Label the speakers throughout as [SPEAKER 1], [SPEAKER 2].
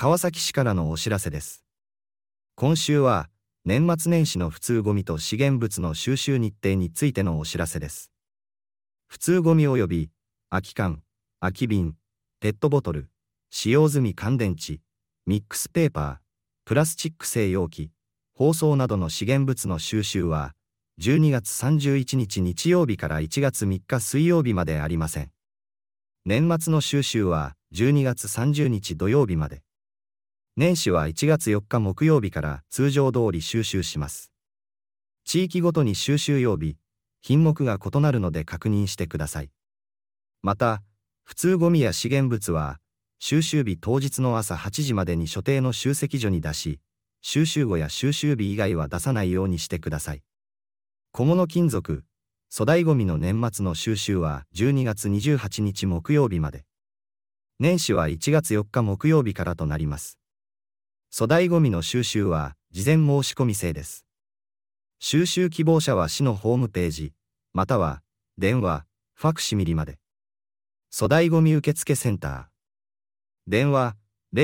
[SPEAKER 1] 川崎市からのお知らせです。今週は、年末年始の普通ゴミと資源物の収集日程についてのお知らせです。普通ゴミ及び、空き缶、空き瓶、ペットボトル、使用済み乾電池、ミックスペーパー、プラスチック製容器、包装などの資源物の収集は、12月31日日曜日から1月3日水曜日までありません。年末の収集は12月30日土曜日まで。年始は1月4日木曜日から通常通り収集します。地域ごとに収集曜日、品目が異なるので確認してください。また、普通ゴミや資源物は、収集日当日の朝8時までに所定の集積所に出し、収集後や収集日以外は出さないようにしてください。小物金属、粗大ゴミの年末の収集は12月28日木曜日まで。年始は1月4日木曜日からとなります。粗大ゴミの収集は事前申し込み制です。収集希望者は市のホームページ、または電話、ファクシミリまで。粗大ゴミ受付センター。電話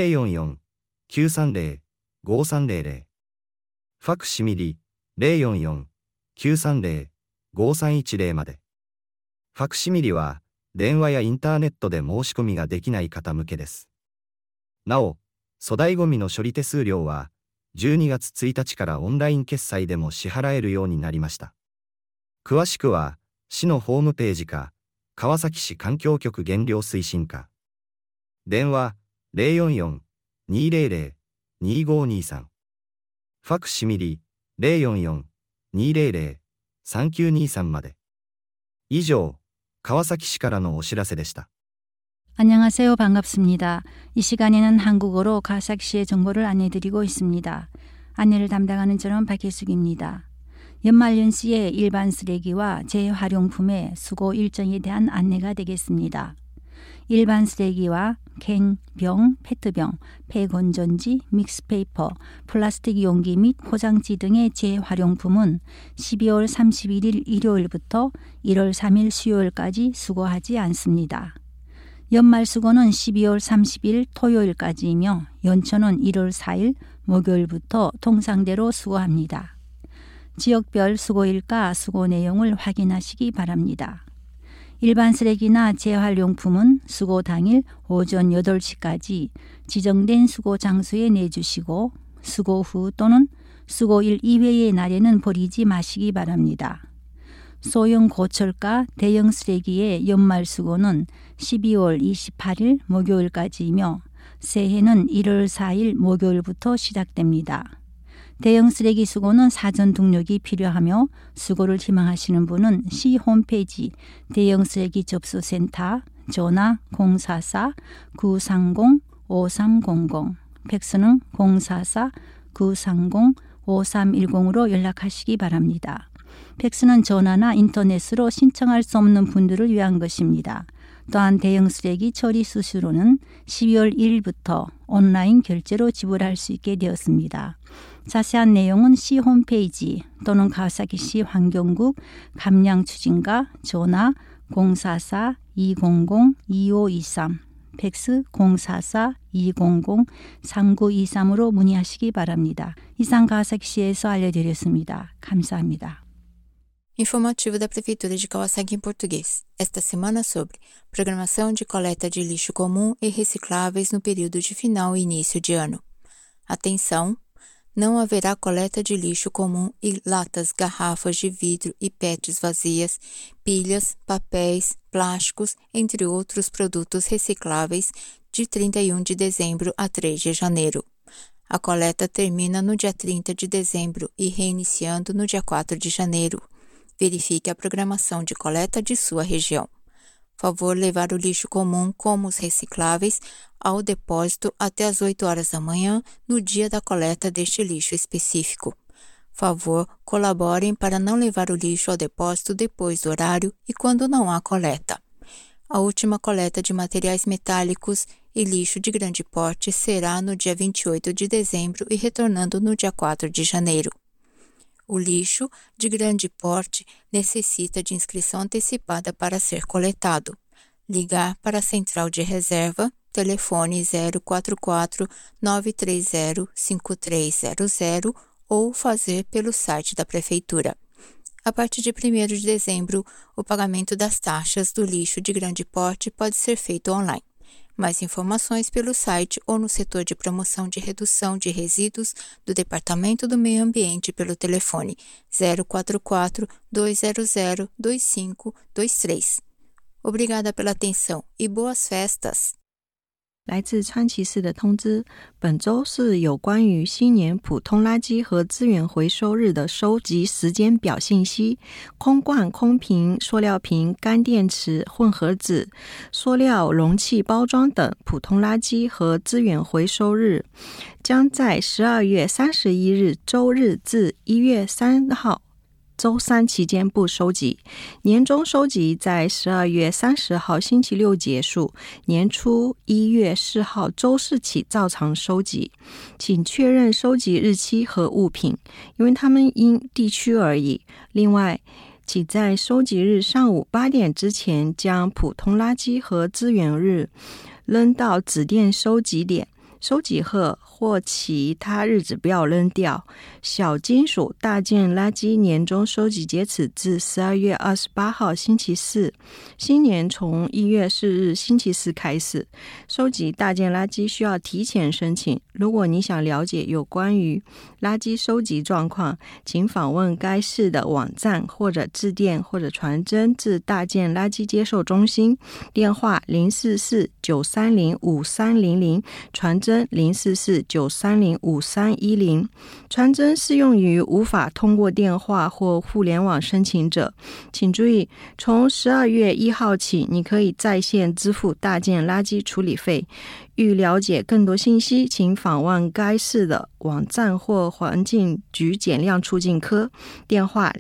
[SPEAKER 1] 044-930-5300。ファクシミリ 044-930-5310 まで。ファクシミリは電話やインターネットで申し込みができない方向けです。なお、粗大ゴミの処理手数料は12月1日からオンライン決済でも支払えるようになりました。詳しくは市のホームページか川崎市環境局減量推進課。電話 044-200-2523。ファクシミリ 044-200-3923 まで。以上、川崎市からのお知らせでした。
[SPEAKER 2] 안녕하세요. 반갑습니다. 이 시간에는 한국어로 가삭시의 정보를 안내드리고 있습니다. 안내를 담당하는 저는 박혜숙입니다. 연말연시에 일반 쓰레기와 재활용품의 수거 일정에 대한 안내가 되겠습니다. 일반 쓰레기와 캔, 병, 페트병, 폐건전지, 믹스페이퍼, 플라스틱 용기 및 포장지 등의 재활용품은 12월 31일 일요일부터 1월 3일 수요일까지 수거하지 않습니다. 연말 수거는 12월 30일 토요일까지이며 연초는 1월 4일 목요일부터 통상대로 수거합니다. 지역별 수거일과 수거 내용을 확인하시기 바랍니다. 일반 쓰레기나 재활용품은 수거 당일 오전 8시까지 지정된 수거 장소에 내주시고 수거 후 또는 수거일 이외의 날에는 버리지 마시기 바랍니다. 소형 고철가 대형 쓰레기의 연말 수거는 12월 28일 목요일까지이며 새해는 1월 4일 목요일부터 시작됩니다. 대형 쓰레기 수거는 사전 등록이 필요하며 수거를 희망하시는 분은 시 홈페이지 대형 쓰레기 접수센터 전화 044-930-5300 팩스는 044-930-5310으로 연락하시기 바랍니다. 팩스는 전화나 인터넷으로 신청할 수 없는 분들을 위한 것입니다. 또한 대형 쓰레기 처리 수수료는 12월 1일부터 온라인 결제로 지불할 수 있게 되었습니다. 자세한 내용은 시 홈페이지 또는 가와사키시 환경국 감량추진과 전화 044-200-2523 팩스 044-200-3923으로 문의하시기 바랍니다. 이상 가와사키시에서 알려드렸습니다. 감사합니다.
[SPEAKER 3] Informativo da Prefeitura de Kawasaki em português. Esta semana sobre programação de coleta de lixo comum e recicláveis no período de final e início de ano. Atenção! Não haverá coleta de lixo comum e latas, garrafas de vidro e PETs vazias, pilhas, papéis, plásticos, entre outros produtos recicláveis, de 31 de dezembro a 3 de janeiro. A coleta termina no dia 30 de dezembro e reiniciando no dia 4 de janeiro. Verifique a programação de coleta de sua região. Favor levar o lixo comum como os recicláveis ao depósito até às 8 horas da manhã no dia da coleta deste lixo específico. Favor, colaborem para não levar o lixo ao depósito depois do horário e quando não há coleta. A última coleta de materiais metálicos e lixo de grande porte será no dia 28 de dezembro e retornando no dia 4 de janeiro. O lixo de grande porte necessita de inscrição antecipada para ser coletado. Ligar para a central de reserva telefone 044-930-5300 ou fazer pelo site da Prefeitura. A partir de 1º de dezembro, o pagamento das taxas do lixo de grande porte pode ser feito online. Mais informações pelo site ou no setor de promoção de redução de resíduos do Departamento do Meio Ambiente pelo telefone 044-200-2523. Obrigada pela atenção e boas festas！
[SPEAKER 4] 来自川崎市的通知，本周是有关于新年普通垃圾和资源回收日的收集时间表信息。空罐、空瓶、塑料瓶、干电池、混合纸、塑料容器包装等普通垃圾和资源回收日将在12月31日周日至1月3号周3期间不收集，年终收集在12月30号星期六结束，年初1月4号周4起照常收集。请确认收集日期和物品，因为它们因地区而异。另外，请在收集日上午8点之前将普通垃圾和资源日扔到指定收集点，收集后或其他日子不要扔掉。小金属大件垃圾年终收集截止至12月28号星期四，新年从1月4日星期四开始。收集大件垃圾需要提前申请，如果你想了解有关于垃圾收集状况，请访问该市的网站或者致电或者传真至大件垃圾接受中心，电话044-930-5300，传真044-930-5310。传真适用于无法通过电话或互联网申请者。请注意，从12月1号起，你可以在线支付大件垃圾处理费。欲了解更多信息，请访问该市的网站或环境局减量促进科，电话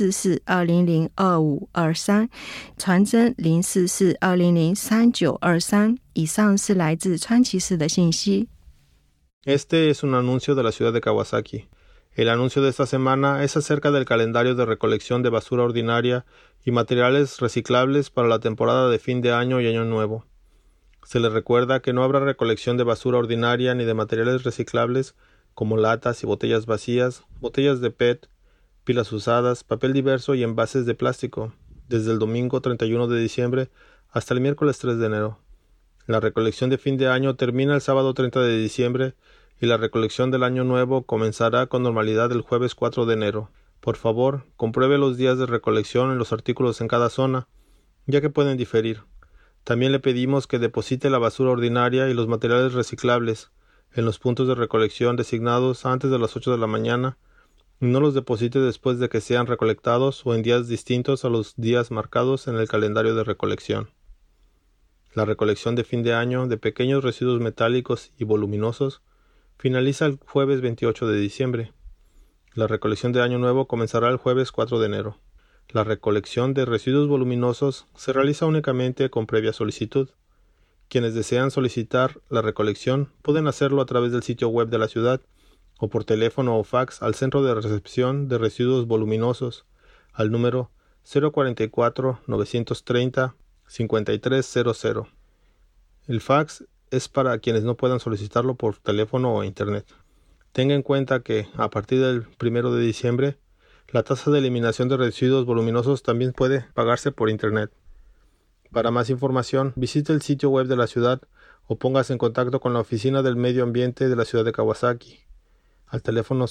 [SPEAKER 4] 044-200-2523，传真044-200-3923。以上是来自川崎市的信息。
[SPEAKER 5] Este es un anuncio de la ciudad de Kawasaki. El anuncio de esta semana es acerca del calendario de recolección de basura ordinaria y materiales reciclables para la temporada de fin de año y año nuevo. Se les recuerda que no habrá recolección de basura ordinaria ni de materiales reciclables como latas y botellas vacías, botellas de PET, pilas usadas, papel diverso y envases de plástico, desde el domingo 31 de diciembre hasta el miércoles 3 de enero. La recolección de fin de año termina el sábado 30 de diciembre y la recolección del año nuevo comenzará con normalidad el jueves 4 de enero. Por favor, compruebe los días de recolección en los artículos en cada zona, ya que pueden diferir. También le pedimos que deposite la basura ordinaria y los materiales reciclables en los puntos de recolección designados antes de las 8 de la mañana y no los deposite después de que sean recolectados o en días distintos a los días marcados en el calendario de recolección. La recolección de fin de año de pequeños residuos metálicos y voluminosos finaliza el jueves 28 de diciembre. La recolección de año nuevo comenzará el jueves 4 de enero. La recolección de residuos voluminosos se realiza únicamente con previa solicitud. Quienes desean solicitar la recolección pueden hacerlo a través del sitio web de la ciudad o por teléfono o fax al Centro de Recepción de Residuos Voluminosos al número 044-930-5300. El fax es para quienes no puedan solicitarlo por teléfono o internet. Tenga en cuenta que, a partir del 1 de diciembre, la tasa de eliminación de residuos voluminosos también puede pagarse por internet. Para más información, visite el sitio web de la ciudad o póngase en contacto con la Oficina del Medio Ambiente de la ciudad de Kawasaki al teléfono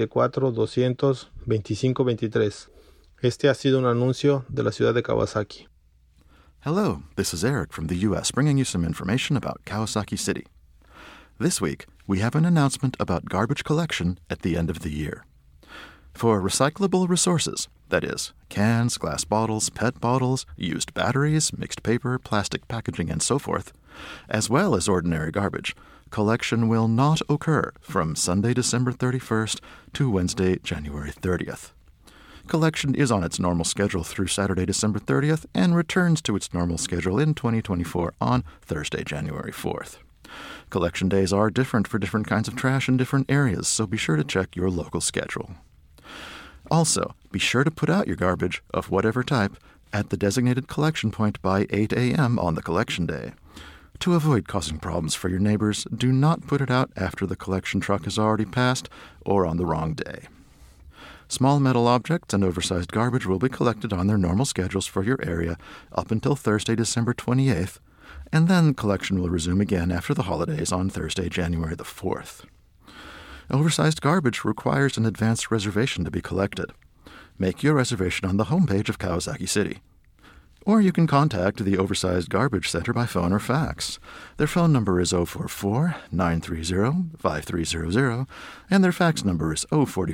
[SPEAKER 5] 044-200-2523. Este ha sido un anuncio de la ciudad de Kawasaki.
[SPEAKER 6] Hello, this is Eric from the U.S. bringing you some information about Kawasaki City. This week, we have an announcement about garbage collection at the end of the year. For recyclable resources, that is, cans, glass bottles, PET bottles, used batteries, mixed paper, plastic packaging, and so forth, as well as ordinary garbage, collection will not occur from Sunday, December 31st to Wednesday, January 30th. Collection is on its normal schedule through Saturday, December 30th, and returns to its normal schedule in 2024 on Thursday, January 4th. Collection days are different for different kinds of trash in different areas, so be sure to check your local schedule. Also, be sure to put out your garbage, of whatever type, at the designated collection point by 8 a.m. on the collection day. To avoid causing problems for your neighbors, do not put it out after the collection truck has already passed or on the wrong day. Small metal objects and oversized garbage will be collected on their normal schedules for your area up until Thursday, December 28th, and then collection will resume again after the holidays on Thursday, January the 4th. Oversized garbage requires an advance reservation to be collected. Make your reservation on the homepage of Kawasaki City. Or you can contact the Oversized Garbage Center by phone or fax. Their phone number is 044-930-5300, and their fax number is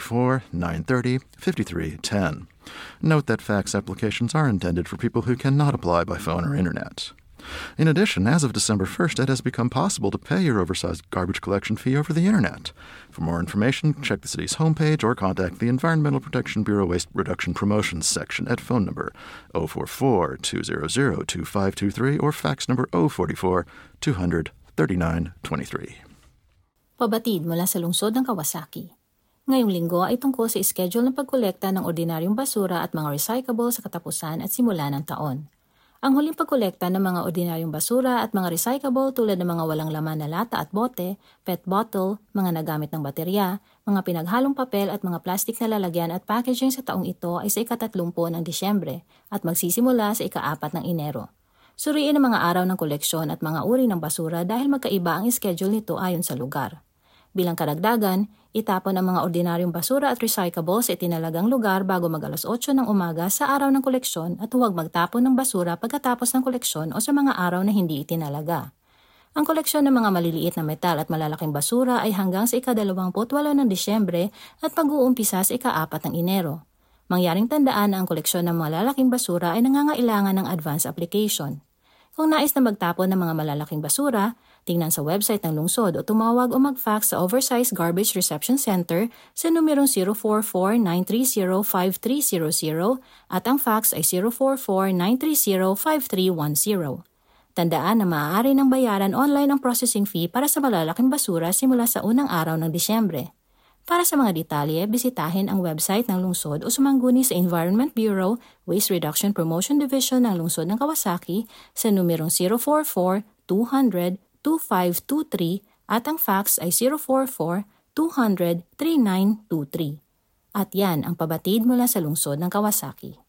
[SPEAKER 6] 044-930-5310. Note that fax applications are intended for people who cannot apply by phone or internet. In addition, as of December 1st, it has become possible to pay your oversized garbage collection fee over the internet. For more information, check the city's homepage or contact the Environmental Protection Bureau Waste Reduction Promotions section at phone number 044-200-2523 or fax number 044-200-3923.
[SPEAKER 7] Pabatid mula sa lungsod ng Kawasaki. Ngayong linggo ay tungkol sa schedule ng pagkolekta ng ordinaryong basura at mga recyclable sa katapusan at simula ng taon. Ang huling pagkolekta ng mga ordinaryong basura at mga recyclable tulad ng mga walang laman na lata at bote, PET bottle, mga nagamit ng baterya, mga pinaghalong papel at mga plastik na lalagyan at packaging sa taong ito ay sa ika-30 ng Disyembre at magsisimula sa ika-4 ng Enero. Suriin ang mga araw ng koleksyon at mga uri ng basura dahil magkaiba ang schedule nito ayon sa lugar. Bilang karagdagan, itapon ang mga ordinaryong basura at recyclable sa itinalagang lugar bago mag-alas 8 ng umaga sa araw ng koleksyon at huwag magtapon ng basura pagkatapos ng koleksyon o sa mga araw na hindi itinalaga. Ang koleksyon ng mga maliliit na metal at malalaking basura ay hanggang sa ika-28 ng Disyembre at pag-uumpisa sa ika-4 ng Enero. Mangyaring tandaan na ang koleksyon ng malalaking basura ay nangangailangan ng advance application. Kung nais na magtapon ng mga malalaking basura, tingnan sa website ng lungsod o tumawag o mag-fax sa Oversized Garbage Reception Center sa numerong 044-930-5300 at ang fax ay 044-930-5310. Tandaan na maaari ng bayaran online ang processing fee para sa malalaking basura simula sa unang araw ng Disyembre. Para sa mga detalye, bisitahin ang website ng lungsod o sumangguni sa Environment Bureau Waste Reduction Promotion Division ng lungsod ng Kawasaki sa numerong 044-200-2523 at ang fax ay 044-200-3923. At yan ang pabatid mula sa lungsod ng Kawasaki.